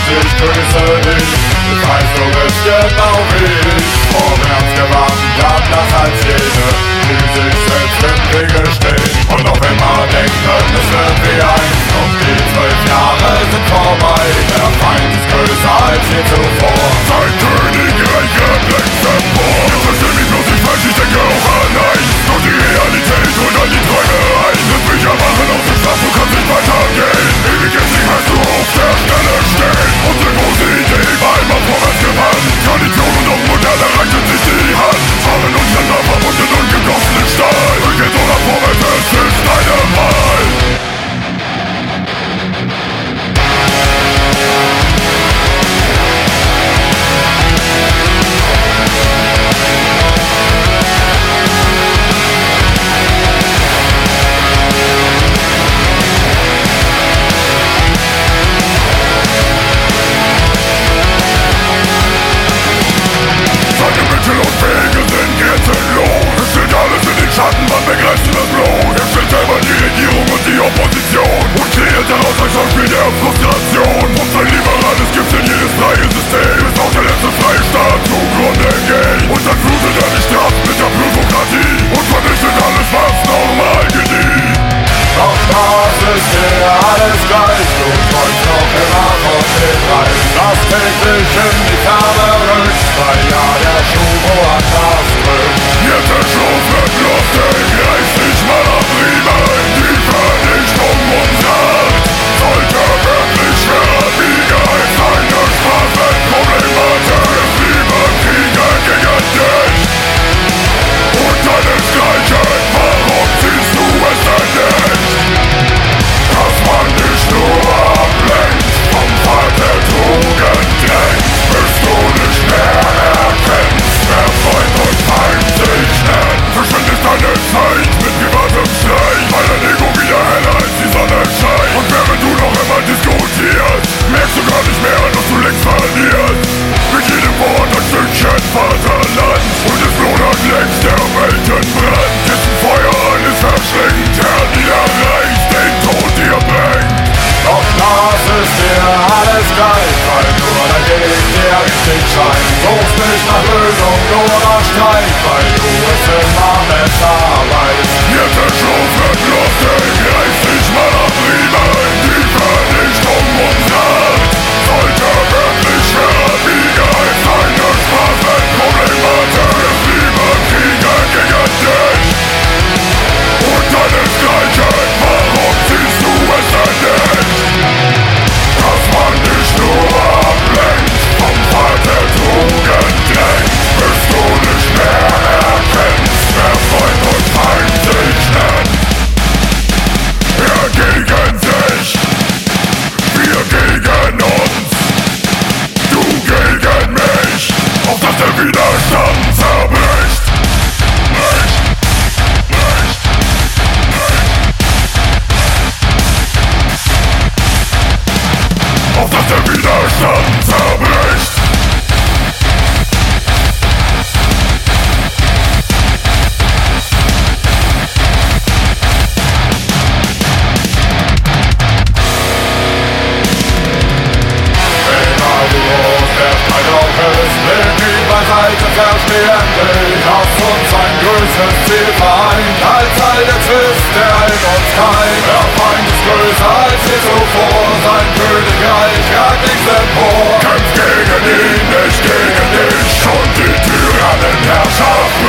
ich grüße dich. Ich weiß, du bist genau wie ich, vorwärts gewandert, nach als jene, die sich selbst im Wege stehen und noch immer denken, es wird wie einst. Doch die 12 Jahre sind vorbei, der Feind ist größer als je zuvor. Sein Königreich längst empor. Jetzt versteh mich bloß nicht falsch, ich denke auch an eins. Doch die Realität holt an die Träume ein. Lass mich erwachen aus dem Schlaf, du kannst nicht weitergehen. Ewig jetzt nicht hast du auf der Stelle stehen. Unsere große Idee war immer vorwärts gewandt. Tradition und auch Moderne reichen sich die Hand. Fahren untereinander verbunden und gegossenen Stahl. Und jetzt oder vorwärts, es ist deine Wahl. Schatten, man begreift das Blut. Er stellt selber die Regierung und die Opposition und kreiert daraus ein Schauspiel der Frustration. Und sein liberales Gift in jedes freie System, bis auch der letzte freie Staat zugrunde geht. Und dann flutet er die Straßen mit der Plutokratie und vernichtet alles, was normal gedieh. Doch das ist dir alles gleich, du träumst noch immer von dem Reich, das täglich in die Ferne rückt, weil ja der Schuh woanders drückt. Jetzt der Schuh wird Luft, der greift nicht mal am Riemen, die Vernichtung unserer Art sollte wirklich schwerer Wiege als eine Straßenproblematik. Es liebe Kriege gegen dich und deinesgleichen, warum ziehst du es denn nicht? Dass man dich nur ablenkt, vom Pfad der Tugend drängt, bis du nicht mehr erkennst, wer Freund und Feind sich nennt. Verschwendest deine Zeit mit privatem Streit, weil dein Ego wieder heller als die Sonne scheint. Und während du noch immer diskutierst, merkst du gar nicht mehr, dass du längst verlierst. Mit jedem Wort ein Stückchen Vaterland und es lodert längst der Weltenbrand. Dessen Feuer alles verschlingt, Herr, niederreicht, den Tod dir bringt. Doch das ist dir alles gleich, weil nur dein Weg dir richtig scheint. Suchst nicht nach Lösung, nur nach Streit, weil du es immer besser weißt. Jetzt der Schuh wird Luft, der greift nicht mal am Riemen. Die Vernichtung unserer Art sollte wirklich schwerer wiegen als eine Straßenproblematik. Es liebe Kriege gegen dich und deinesgleichen, warum ziehst du es denn nicht? Dass man dich nur ablenkt, vom Pfad der Tugend drängt, bis du nicht mehr erkennst, wer Freund und Feind sich nennt. Er gegen sich, wir gegen uns, du gegen mich, auf dass der Widerstand zerbricht. Auf dass der Widerstand zerbricht. Egal wie groß der Streit auch ist, leg ihn beiseite, verstehen dich. Lass uns ein größeres Ziel vereint, als all der Zwist, der in uns keimt. Der Feind ist größer als je zuvor, sein Königreich ragt nichts empor. Kämpf gegen ihn, nicht gegen dich und die Tyrannenherrschaft